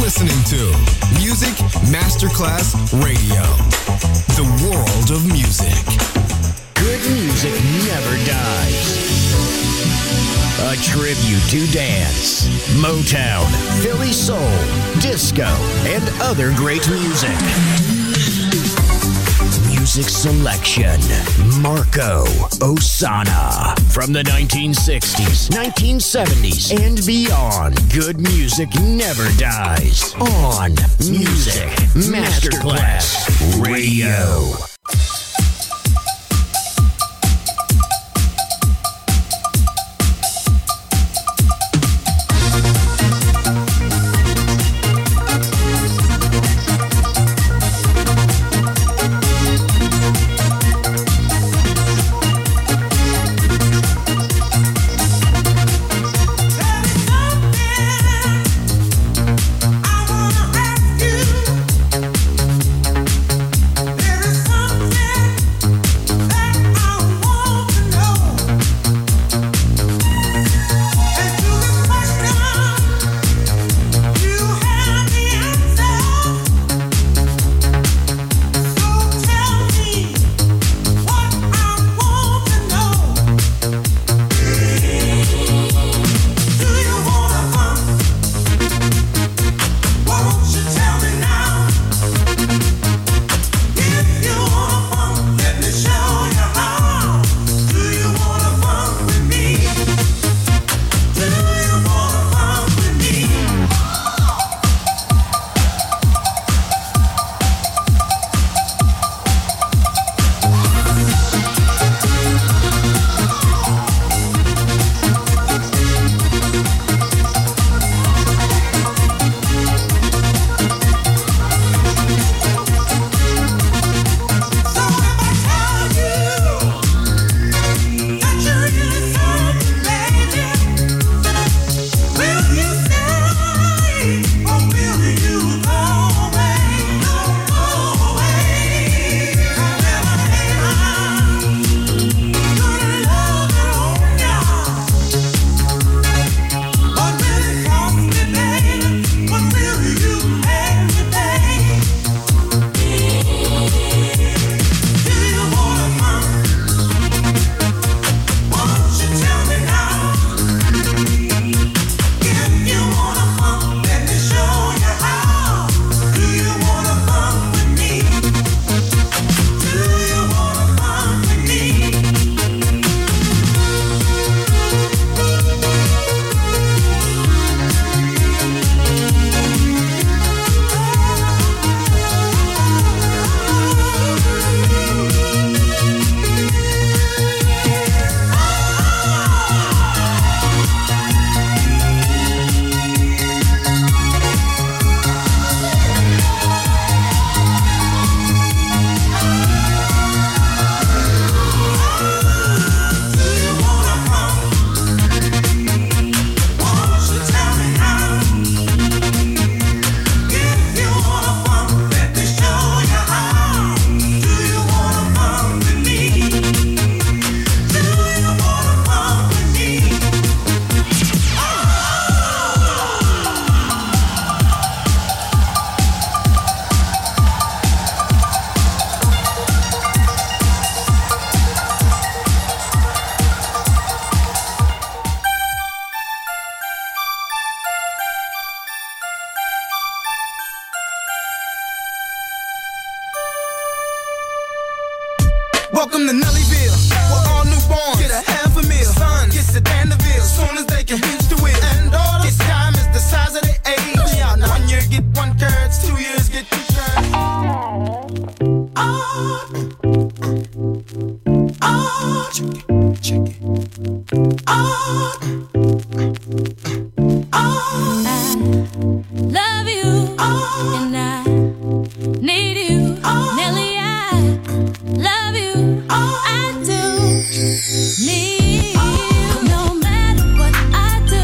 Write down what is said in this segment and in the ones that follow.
listening to Music Masterclass Radio, the world of music. Good music never dies. A tribute to dance, Motown, Philly soul, disco, and other great music. Music selection, Marco Ossanna. From the 1960s, 1970s, and beyond, good music never dies. On Music Masterclass Radio. Welcome to Nellyville, where all newborns get a half a meal. Son gets a Danville, soon as they can reach the wheel. And daughters, this time is the size of their age. 1 year get 1 curds, 2 years get 2 curds. Check it. I love you, and I need you, Nelly. I love you, I do need you. No matter what I do.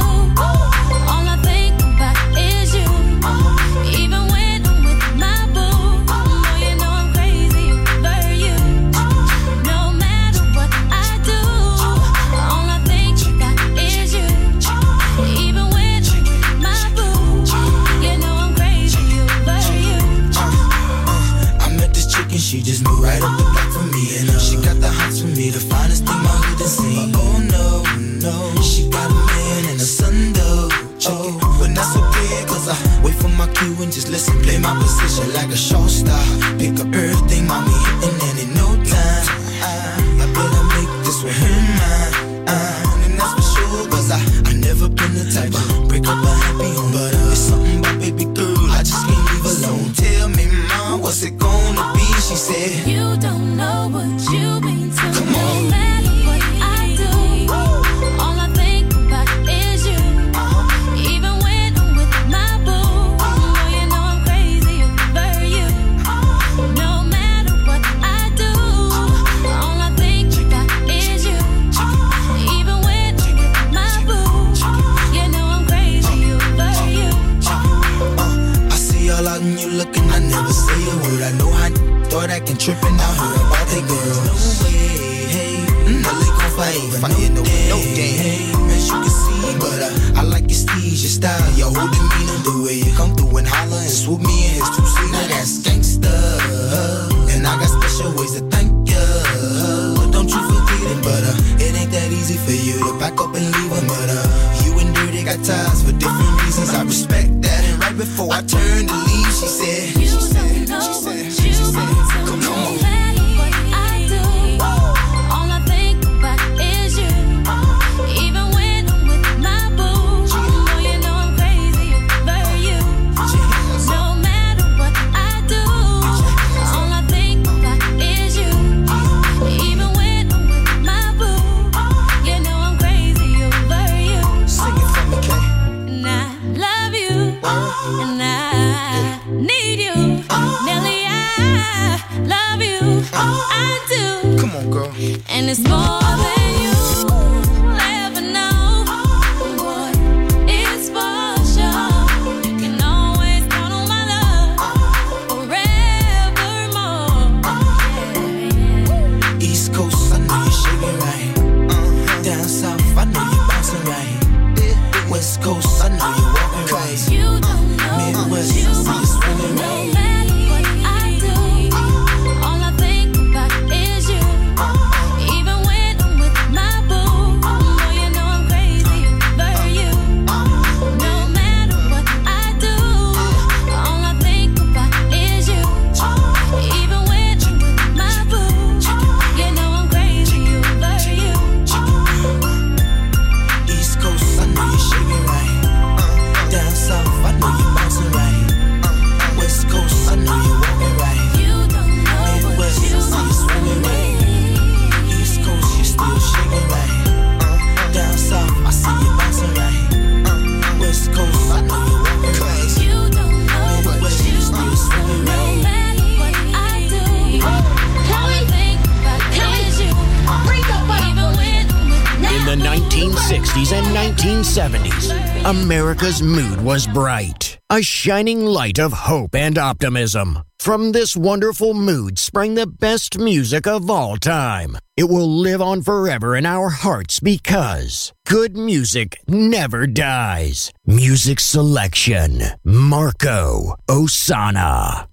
but not so clear, cause I wait for my cue and just listen. Play my position like a show star. Pick up everything, mommy, hitting, and in no time I better make this with her mine. And that's for sure, cause I never been the type of break up a happy home. But it's something about baby girl, I just can't leave alone. Tell me, mom, what's it gonna be? She said, you don't know what you mean to me. Come on. No matter what I do, all I think about is you. Even when I'm with my boo, oh, you know I'm crazy over you. No matter what I do, all I think about is you. Even when I'm with my boo, you know I'm crazy over you. I see all out and you looking, I never say a word. I know how thought I can trip and I heard about that girl. No way, hey, Nelly gon' fight, no game, hey, as you can see, but I like your steez, your style, your whole demeanor, the way you come through and holler and swoop me in his two-seater. Now that's gangsta, and I got special ways to thank ya. Don't you forget it, but it ain't that easy for you to back up and leave him. But you and Dirty got ties for different reasons. I respect that. And right before I turned to leave, she said, You don't know what you mean to me. No matter what I do, all I think about is you. Even when I'm with my boo, oh, you know I'm crazy over you. No matter what I do, all I think about is you. Even when I'm with my boo, you know I'm crazy over you. Sing it for me, Kay. And I love you, and I need you. Nelly, I love you, I do. Come on, girl. And it's more than you ever know. Boy, it's for sure. You can always count on my love forevermore. Yeah. East Coast, I know you're shaking right. Down south, I know you're bouncing right. West Coast, I know you're walking right. You don't know what Midwest, you I see you swinging no right. matter what I do, all I think about is you. Even when I'm with my boo, oh, you know I'm crazy over you. No matter what I do, all I think about is you. Even when I'm with my boo, you know I'm crazy over you. East Coast, I know you're shaking right. Down south, I know you're bouncing right. West Coast, I know you're walking right. You don't know what Midwest, you I see you swinging right. East Coast, you're still shaking right. Down south, I see you bouncing right. West Coast, I know you're walking right. You don't know what Midwest, you you're still swinging no right. matter what I do, all I think about is you. Even when I'm with In the 1960s and 1970s, America's mood was bright, a shining light of hope and optimism. From this wonderful mood sprang the best music of all time. It will live on forever in our hearts because good music never dies. Music selection, Marco Ossanna.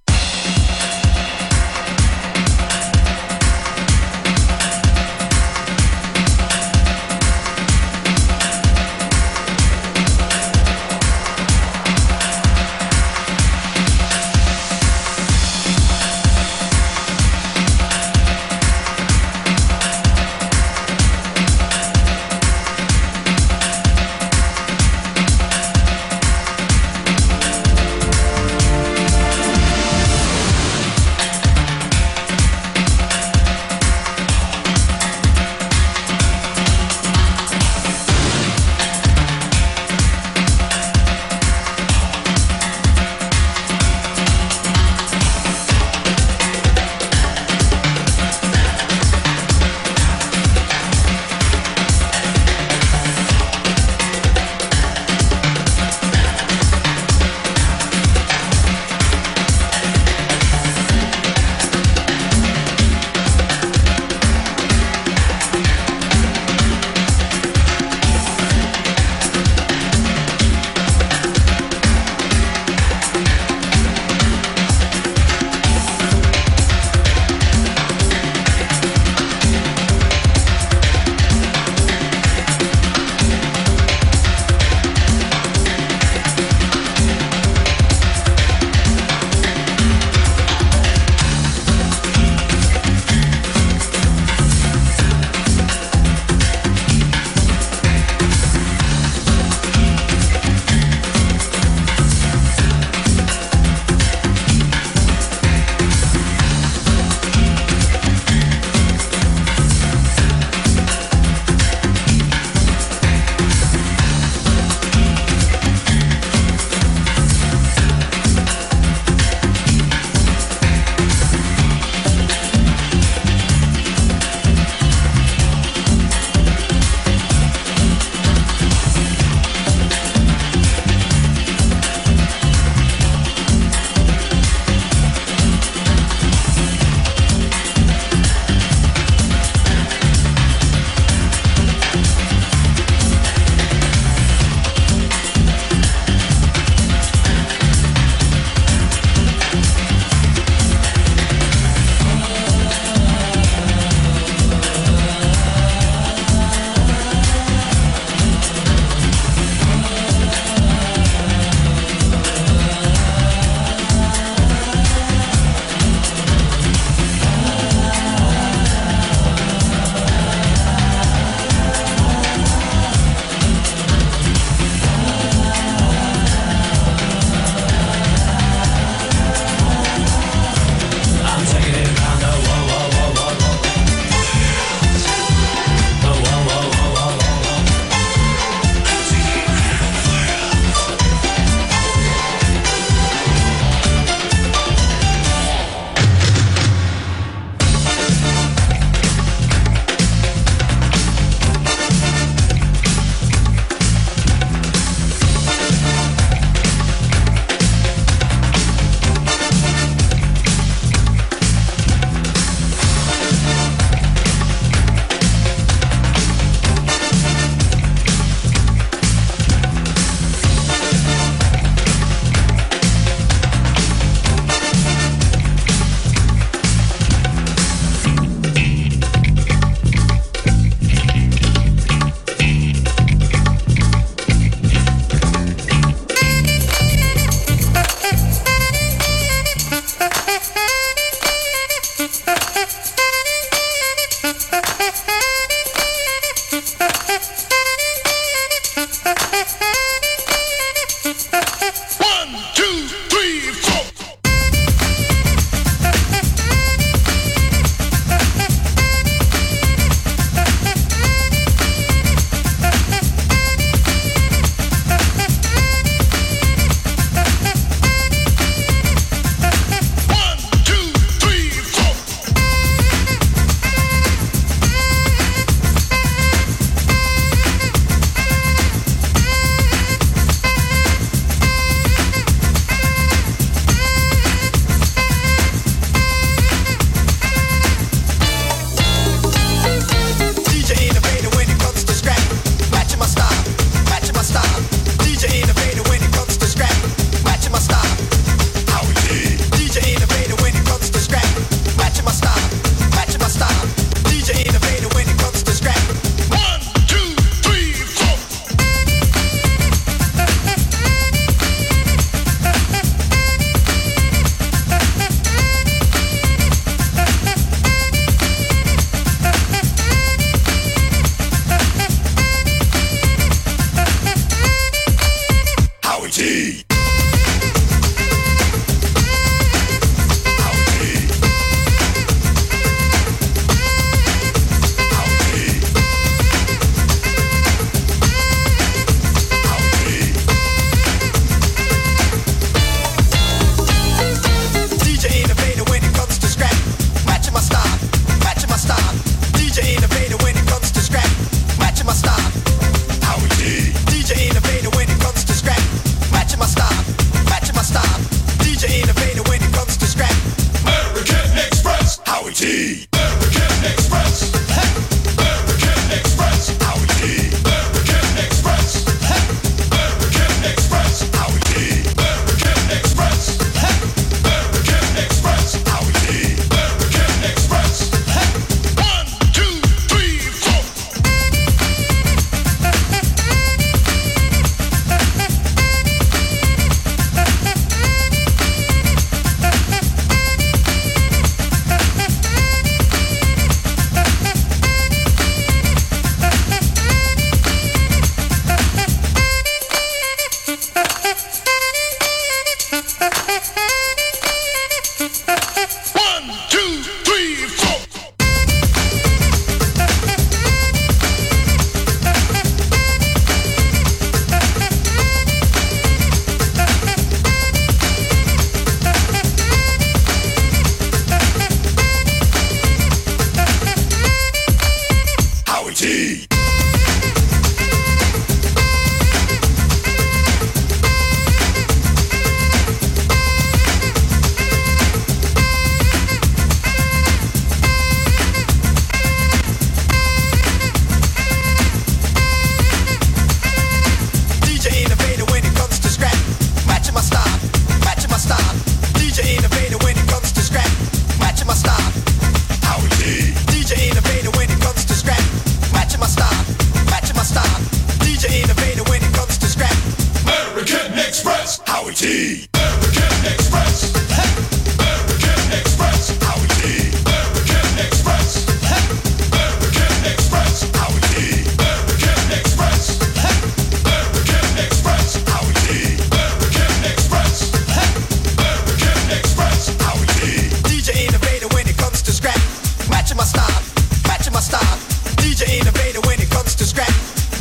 Howie T. American Express. American Express. Howie T. American Express. American Express. Howie T. American Express. American Express. Howie T. American Express. American Express. Howie T. DJ innovator when it comes to scrap. Matching my style. Matching my style. DJ innovator when it comes to scrap.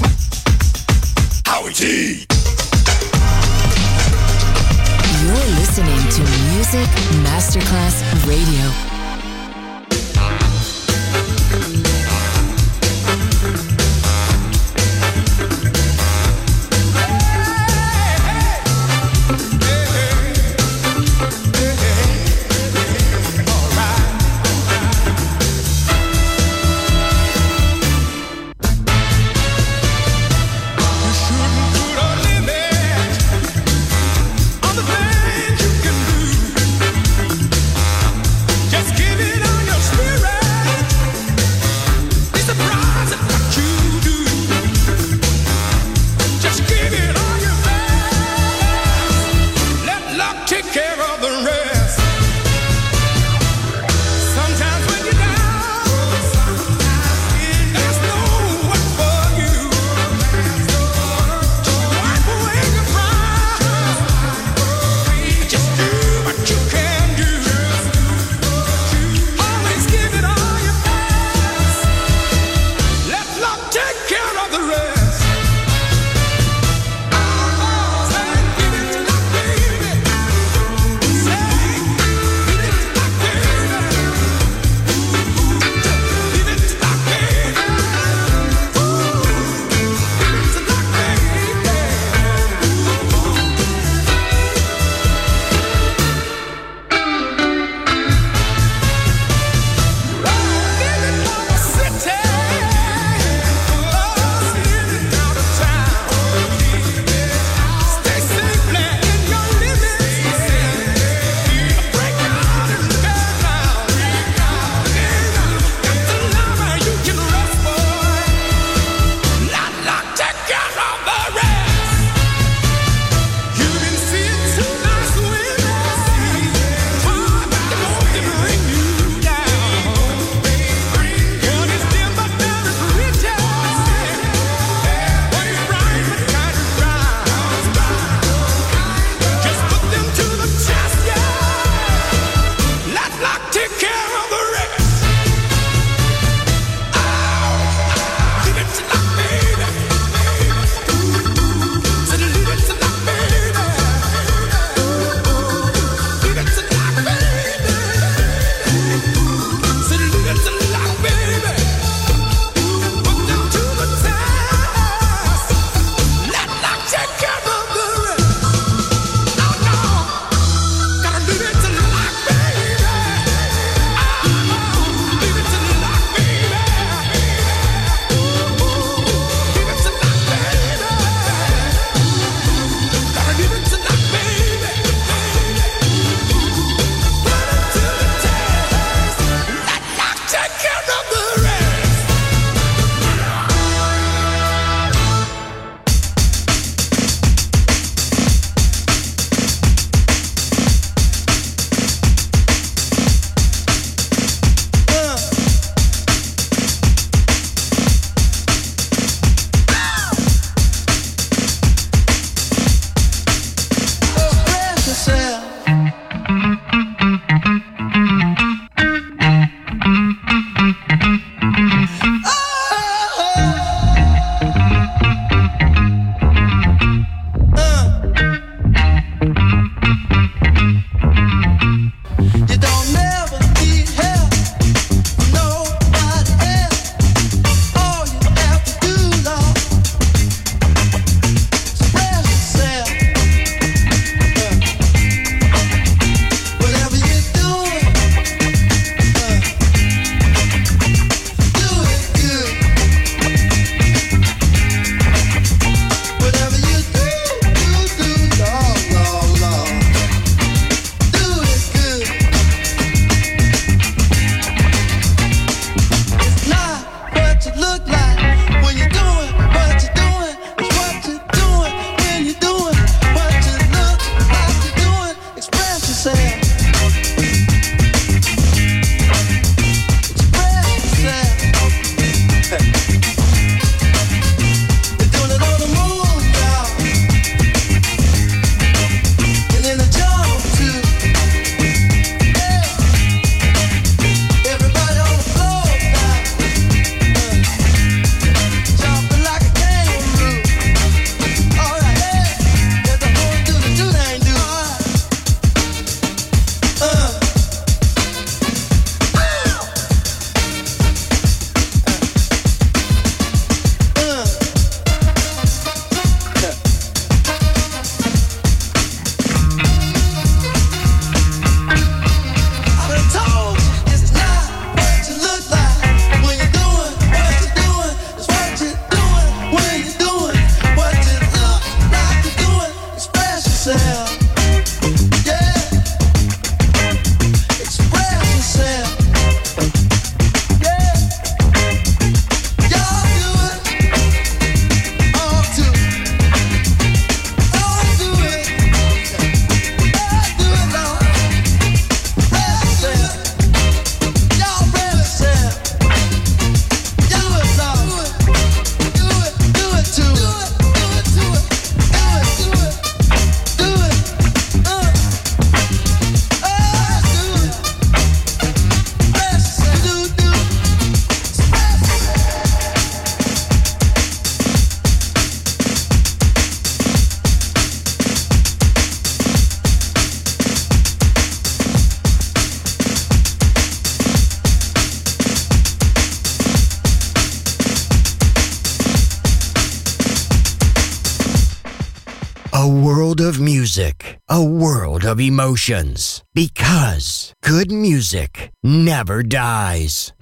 Howie T. You're listening to Music Masterclass Radio. Just music, a world of emotions. Because good music never dies.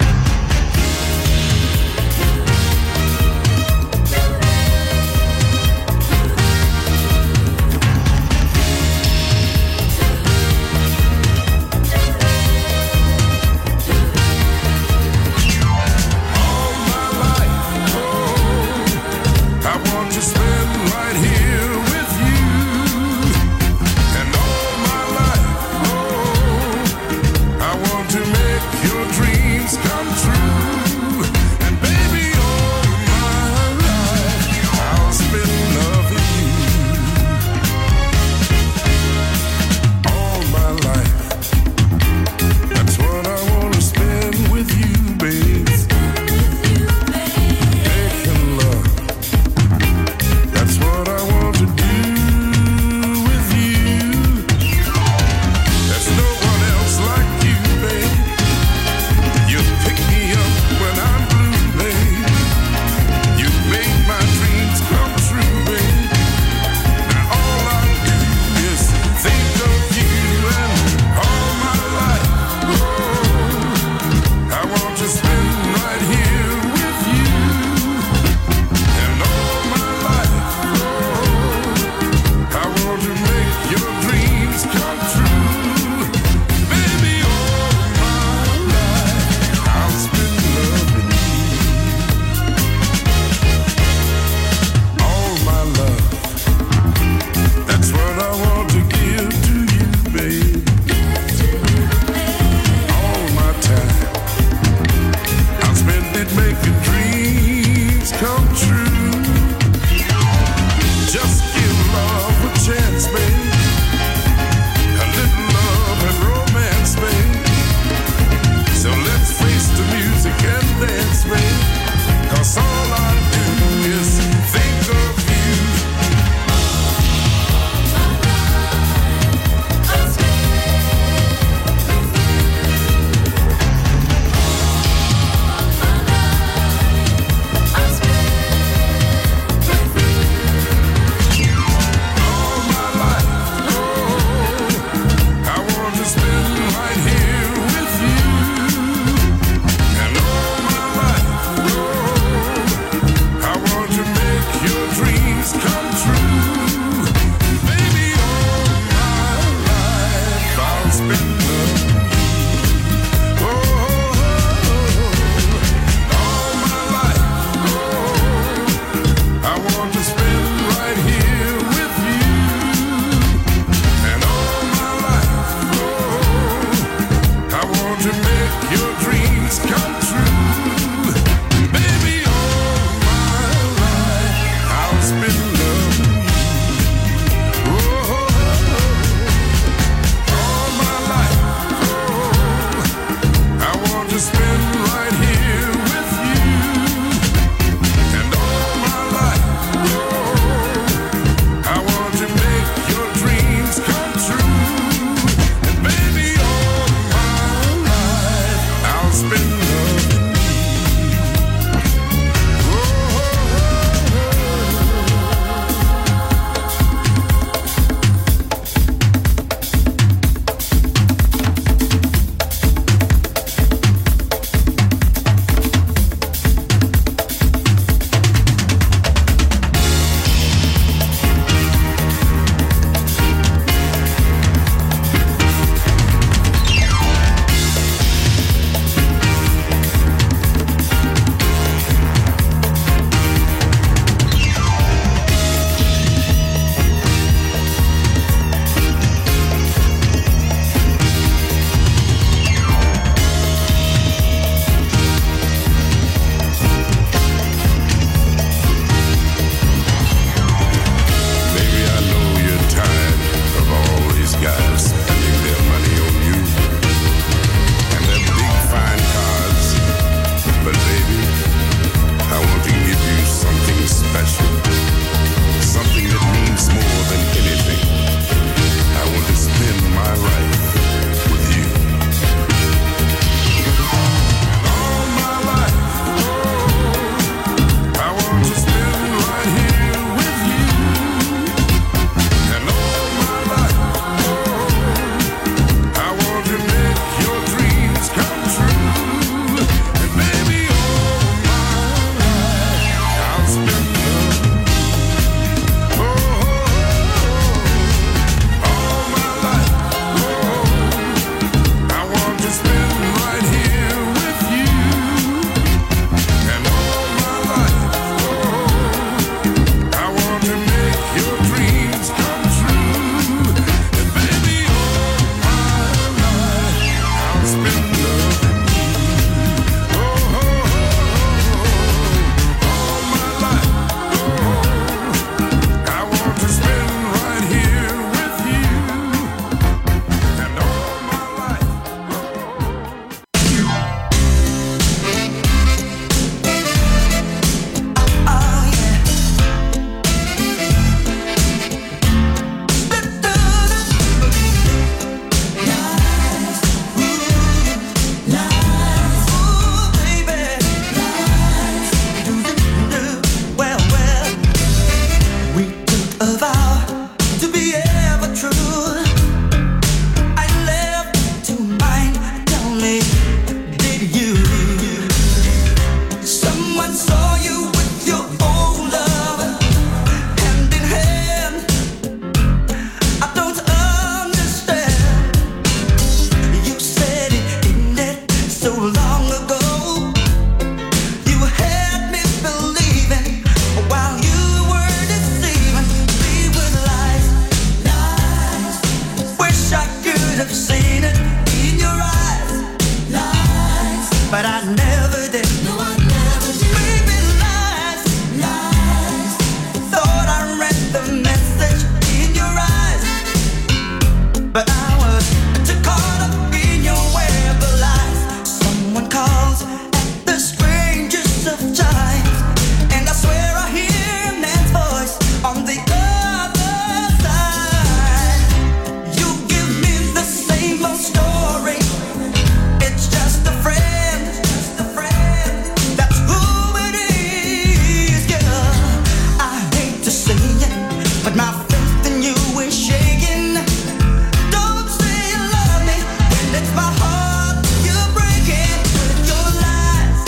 but I was too caught up in your web of lies. Someone calls at the strangest of times, and I swear I hear a man's voice on the other side. You give me the same old story. It's just a friend, that's who it is, girl. I hate to say it, but my faith in you is shaking. Don't say you love me when it's my heart you're breaking with your lies.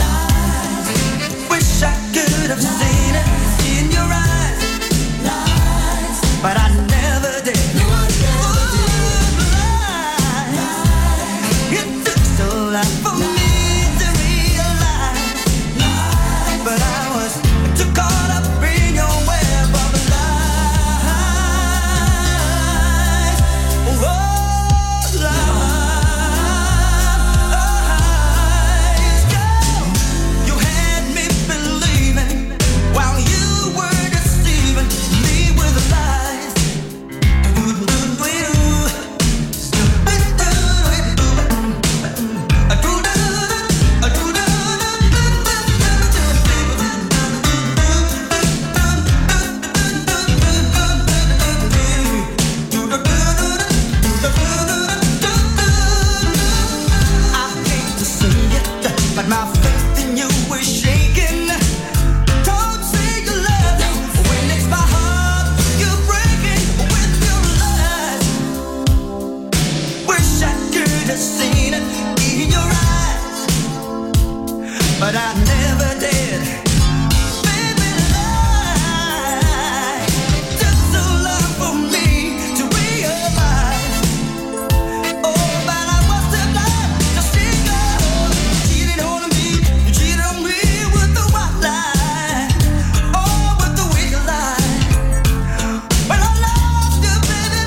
Wish I could have seen it in your eyes, but I never did. It took so long for me to realize, but I was too caught up in your web of lies. Oh, lies. You had me believing while you were deceiving me with lies. I hate to say it, but my faith in you is shaking. Don't say you love me when it's my heart you're breaking with your lies. Wish I could have seen it in your eyes, but I never did. Baby, lie. Took so long for me to realize. Oh, but I was too blind to see you cheating on me. You cheated on me with the white lie. Oh, with the wicked lie. But I love you, baby,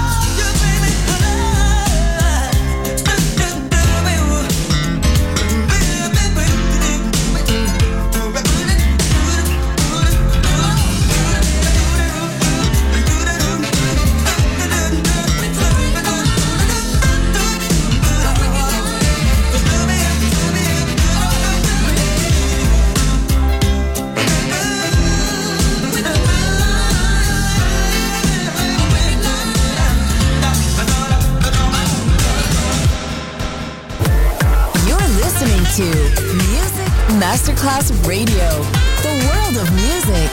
You're listening to Music Masterclass Radio, the world of music.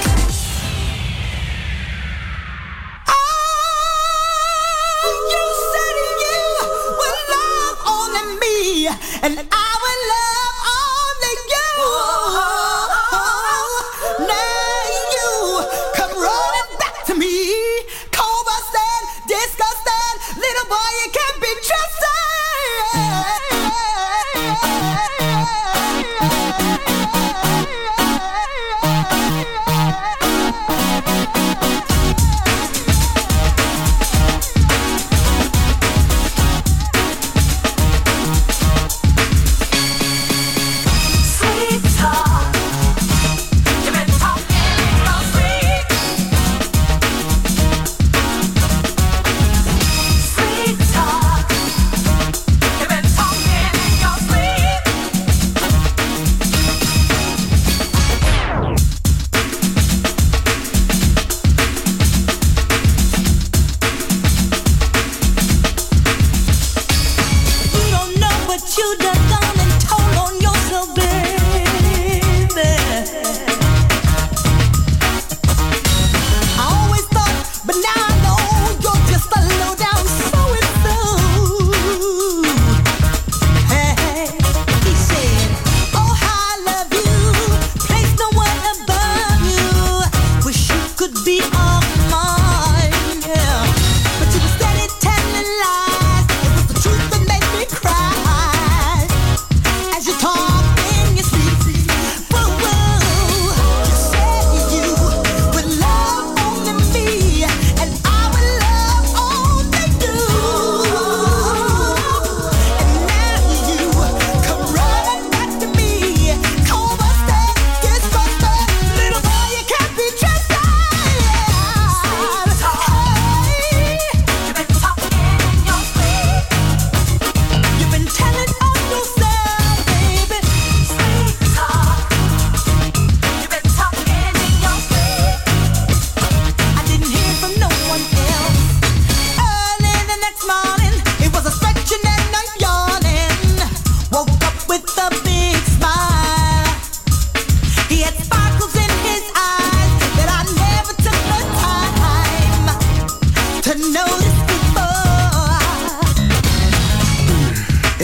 You said you would love only me, and I will love only you. Now you come running back to me, cold-busted, disgusted, little boy, you can't be trusted.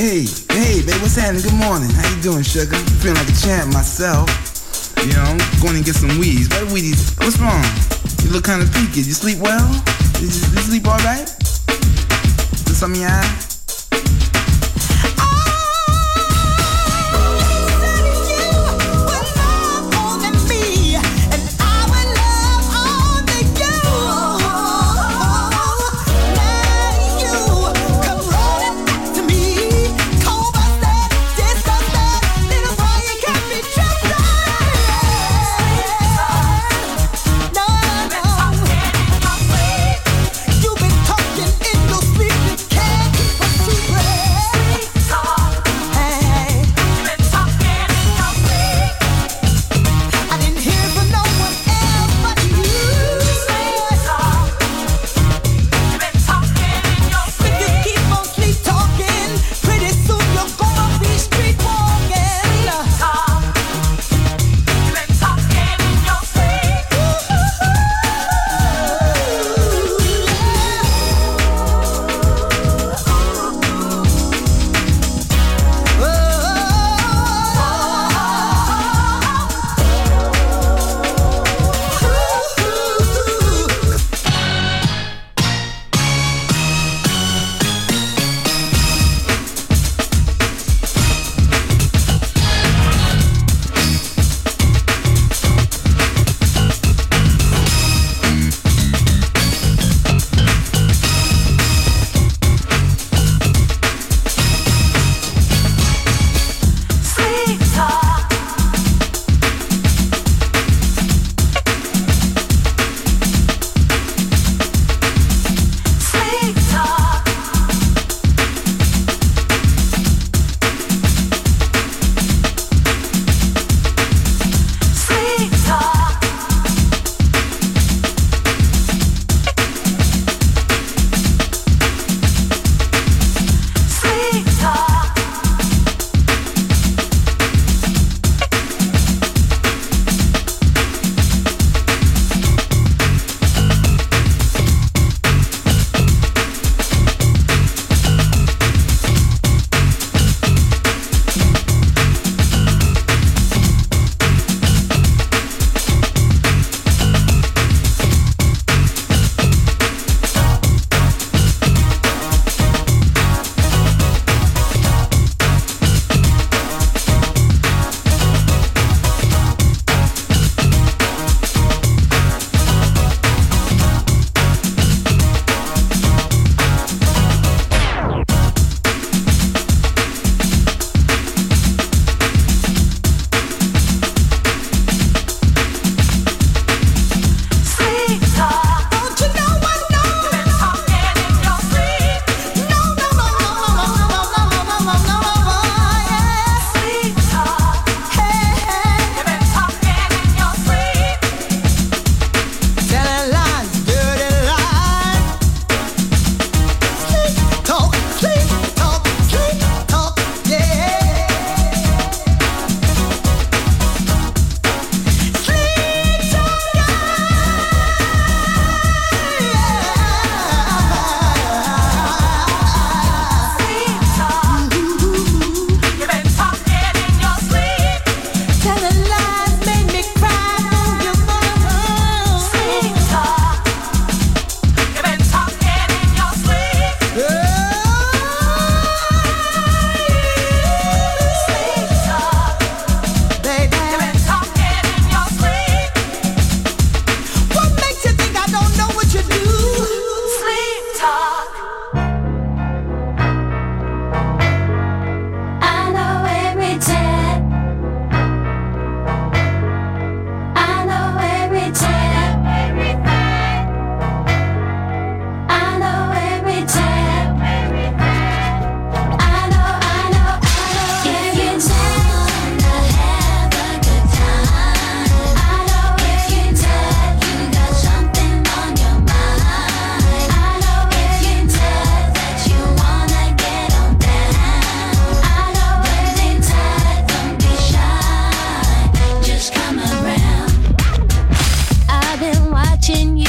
Hey, babe, what's happening? Good morning. How you doing, sugar? Feeling like a champ myself. You know, I'm going to get some weeds. What weedies? What's wrong? You look kind of peaked. You sleep well? Did you sleep all right? Is some in your eye?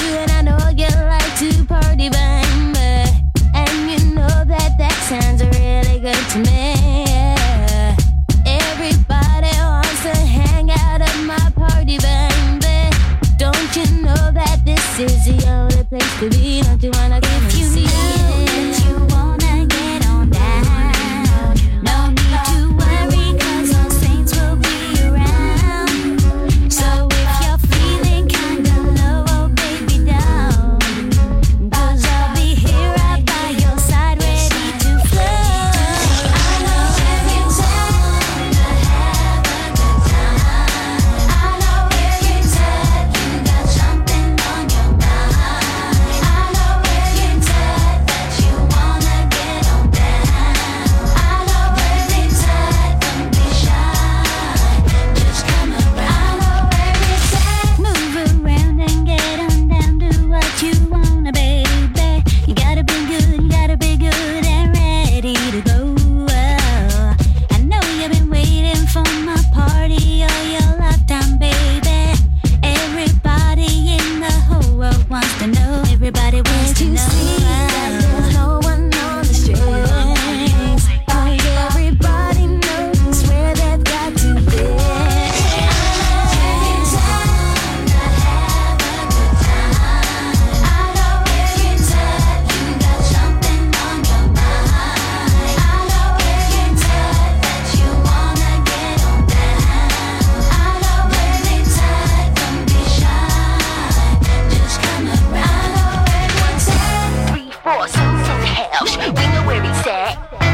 sounds real. really good to me. Yeah. Everybody wants to hang out at my party, baby. Don't you know that this is the only place to be? Don't you wanna come and see it? That you wanna get on down. No need to worry, 'cause all saints will be around. So if you're feeling kinda low, oh baby, down. 'Cause I'll be here right by your side, ready to flow. I know every time to have a good time. I know every time you got something on your mind. I know every time that you wanna get on down. I know every time, don't be shy, just come around. I know every time, move around and get on down, do what you wanna, baby. You gotta be good and ready to go. I know you've been waiting for my party all your lifetime, baby. Everybody in the whole world wants to know. Everybody wants to know. There's no one on the strings. Like everybody knows where they've got to be. Every time to have a good time. I know every time you got something on your mind. I know every time that you wanna get on down. I know every time, don't be shy, just come around. I know every time. 3, 4, songs in the house. We know where he's at.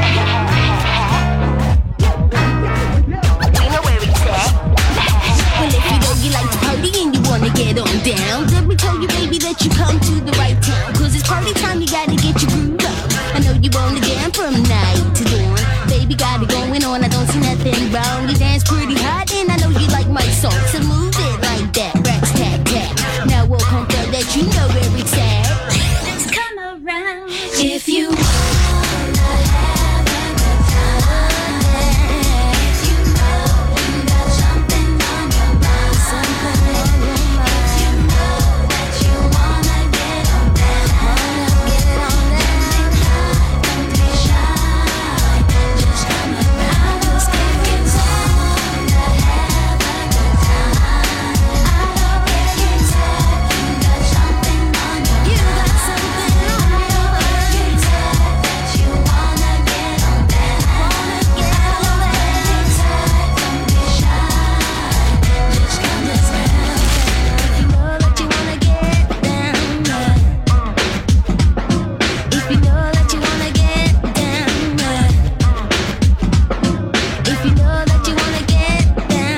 We know where he's at. Well, if you know you like to party and you wanna get on down, let me tell you, baby, that you come to the right town. 'Cause it's party time, you gotta get your groove on. I know you wanna jam from night to dawn. Baby, got it going on, I don't see nothing wrong. You dance pretty hot and I know you like my song. So move it like that, racks, tap, tap. Now we'll confirm that you know where it's at. Just come around if you wanna have a good time. If you know you got something on your mind. If you know that you wanna get on down. Don't be shy, just come around. If you wanna have a good time. I know every time you got something on your mind. You got something on your mind. Every time that you wanna get on down. Every time, don't be shy, just come around. If you know that you wanna get down, if you know that you wanna get down, if you know that you wanna get down,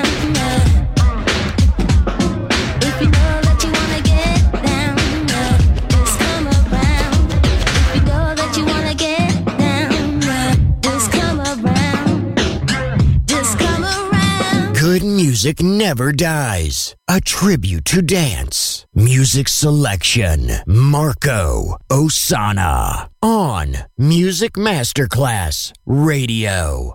if you know that you wanna get down, just come around. If you know that you wanna get down, just come around, just come around. Good music never dies. A tribute to dance. Music selection. Marco Ossanna. On Music Masterclass Radio.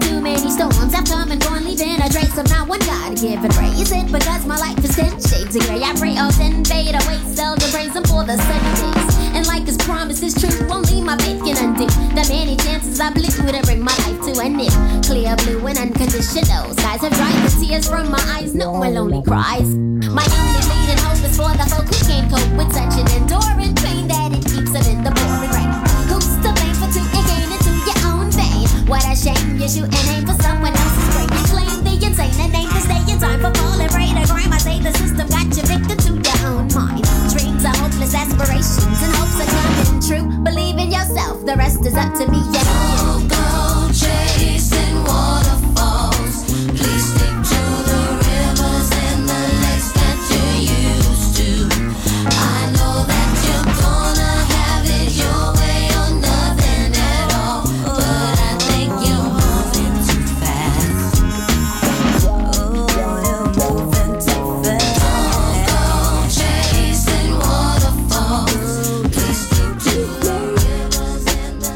too many storms have come and gone, leaving a trace of not one God given praise. It because my life is 10 shades of gray. I pray all 10 fade away, seldom praise Him for the sunny days. And like His promise is true, only my faith can undo the many chances I blew to bring my life to an end. Clear blue and unconditional skies have dried the tears from my eyes. No one lonely cries. My only leading hope is for the folk who can't cope with such an enduring pain that it keeps them in the pouring rain. Who's to blame for taking gain into your own vein? What a shame you shoot and aim for someone else's brain. You claim the insane and aim to stay in time for falling prey to crime. I say the system got you victim to your own mind. Dreams are hopeless aspirations and hopes are coming true. Believe in yourself, the rest is up to me. Yeah. Don't go chasing waterfalls. Please stick to the rivers and the lakes that you're used to. I know that you're gonna have it your way or nothing at all, but I think you're moving too fast. Oh, you're moving too fast. Don't go chasing waterfalls. Please stick to the rivers and the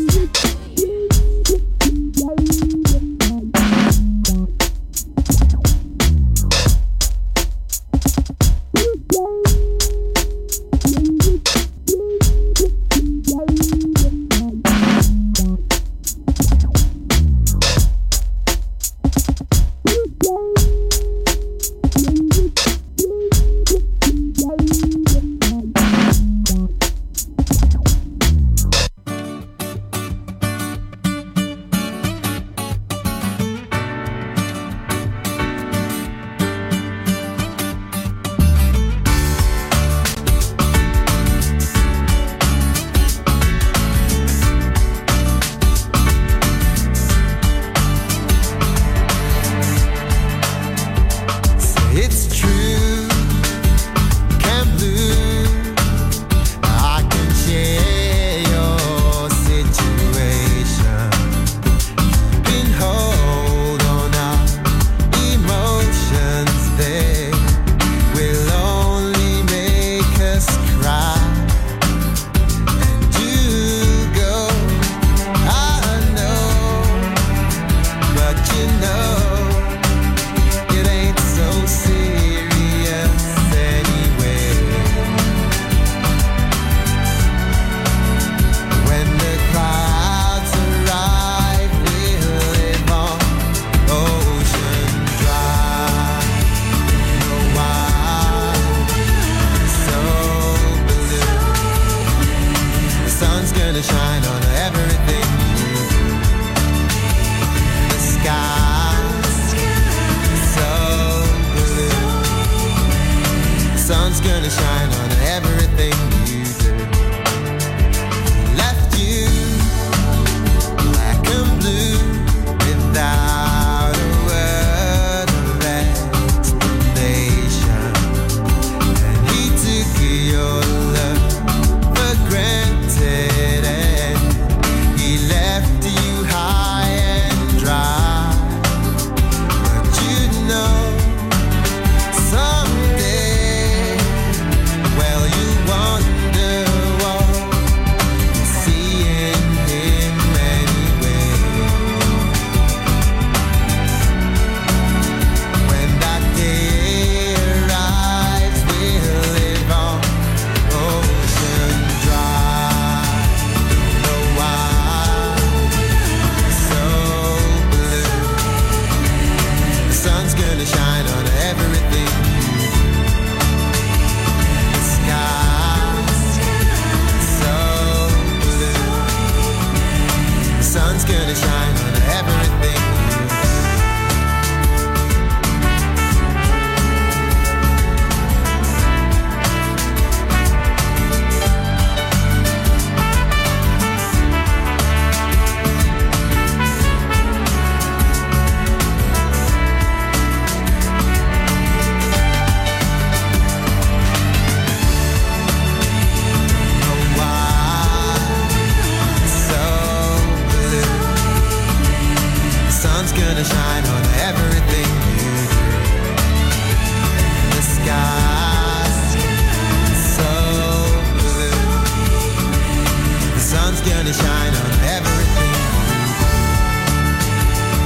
It's true, can't lose. I can share your situation. Can hold on our emotions. They will only make us cry. And you go, I know, but you know. It ain't so serious anyway. When the clouds arrive, we'll live on ocean drive. No why so blue. The sun's gonna shine on everything you do. The sky's so blue. The sun's gonna shine on everything you do. Left you black and blue without a word of explanation. And he took your love for granted, and he left you high and dry. But you know, someday, well, you wonder what you see in him anyway. When that day arrives, we'll live on ocean drive. Don't know why so blue. The sun's gonna shine on everything you do. The sky's so blue. The sun's gonna shine on everything you do. Gonna shine on everything you do. The sky's so blue. The sun's gonna shine on everything you do.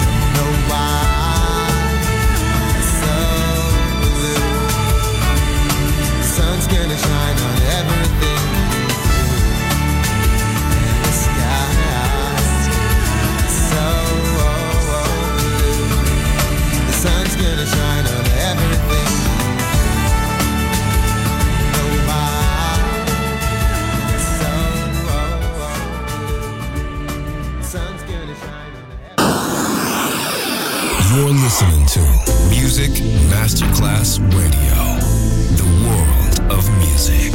You're listening to Music Masterclass Radio, the world of music.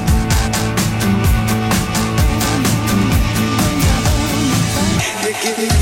Give me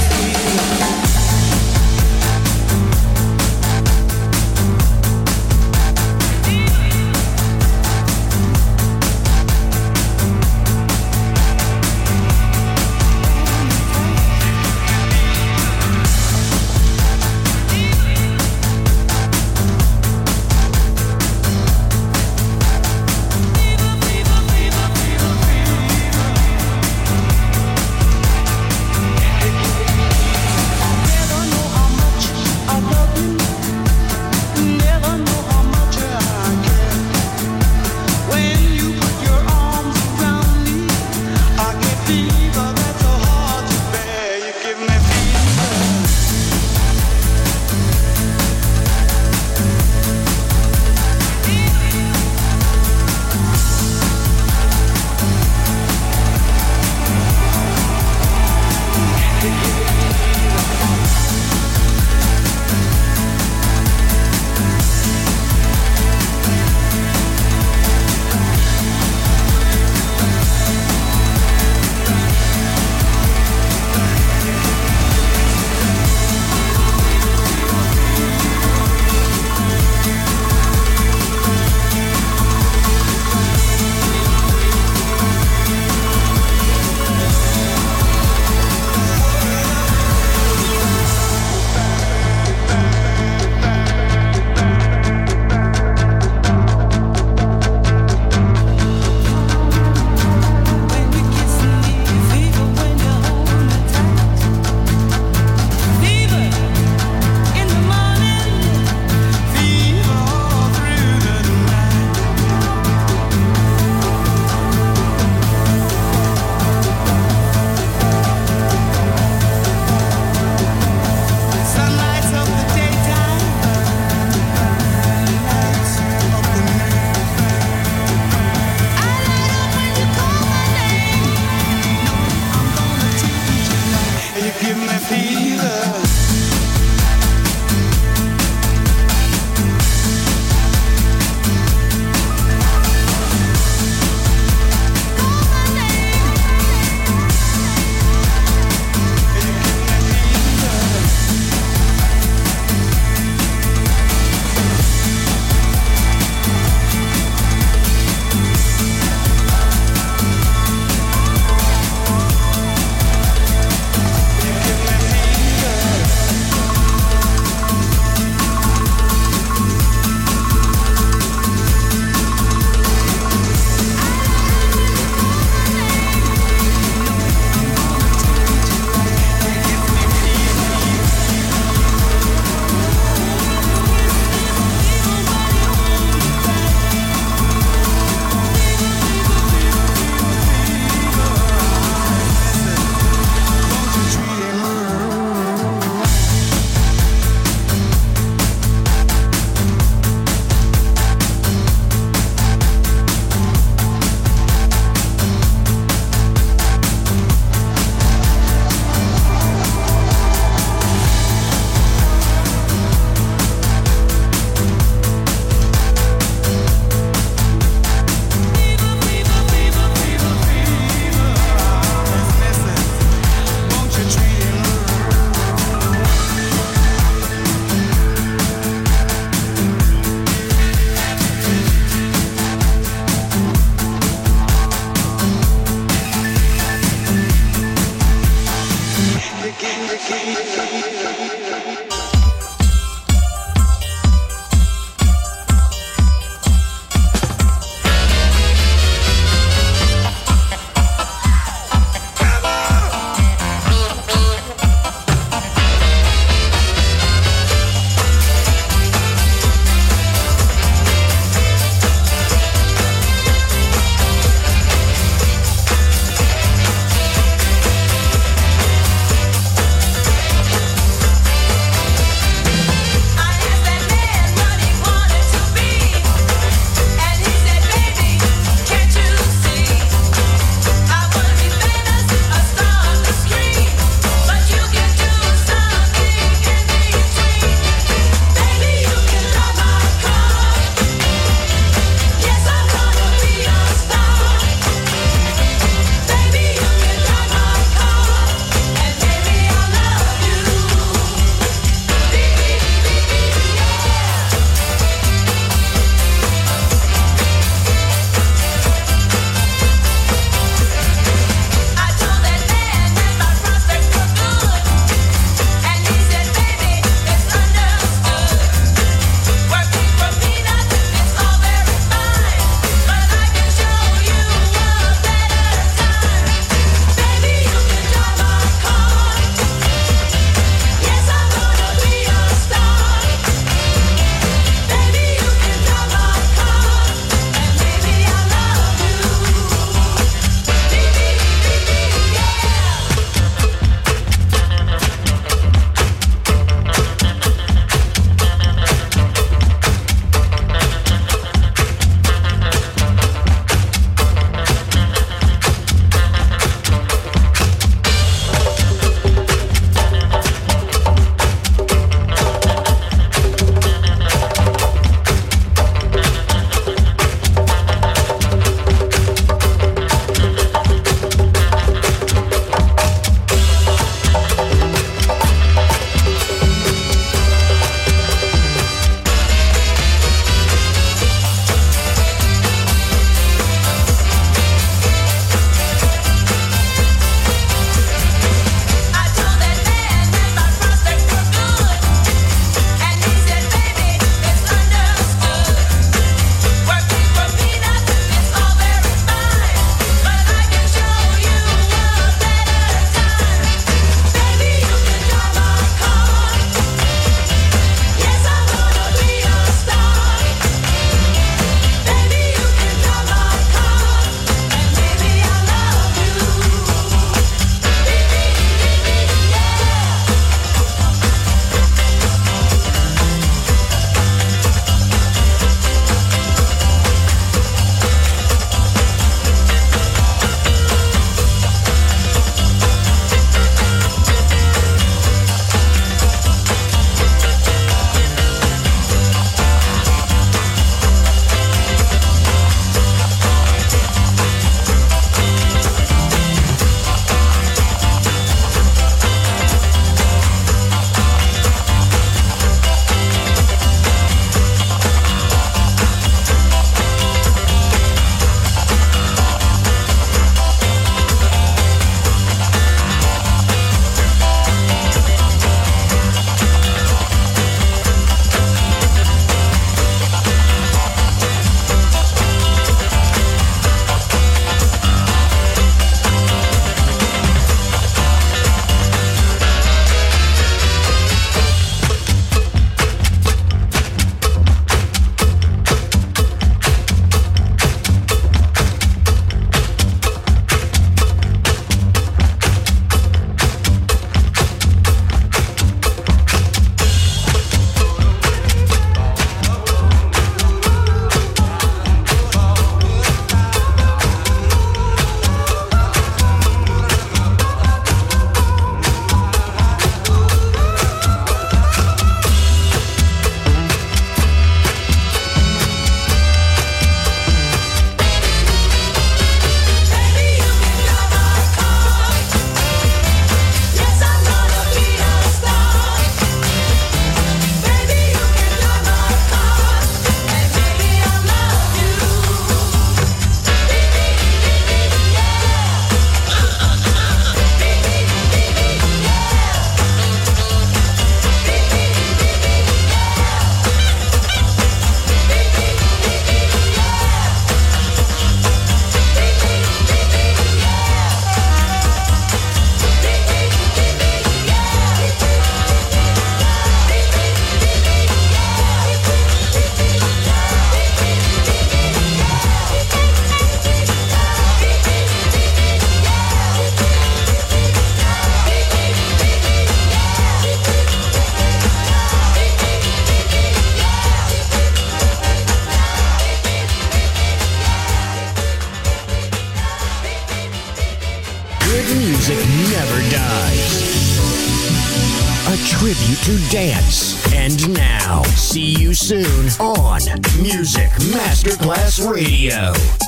a tribute to dance. And now, see you soon on Music Masterclass Radio.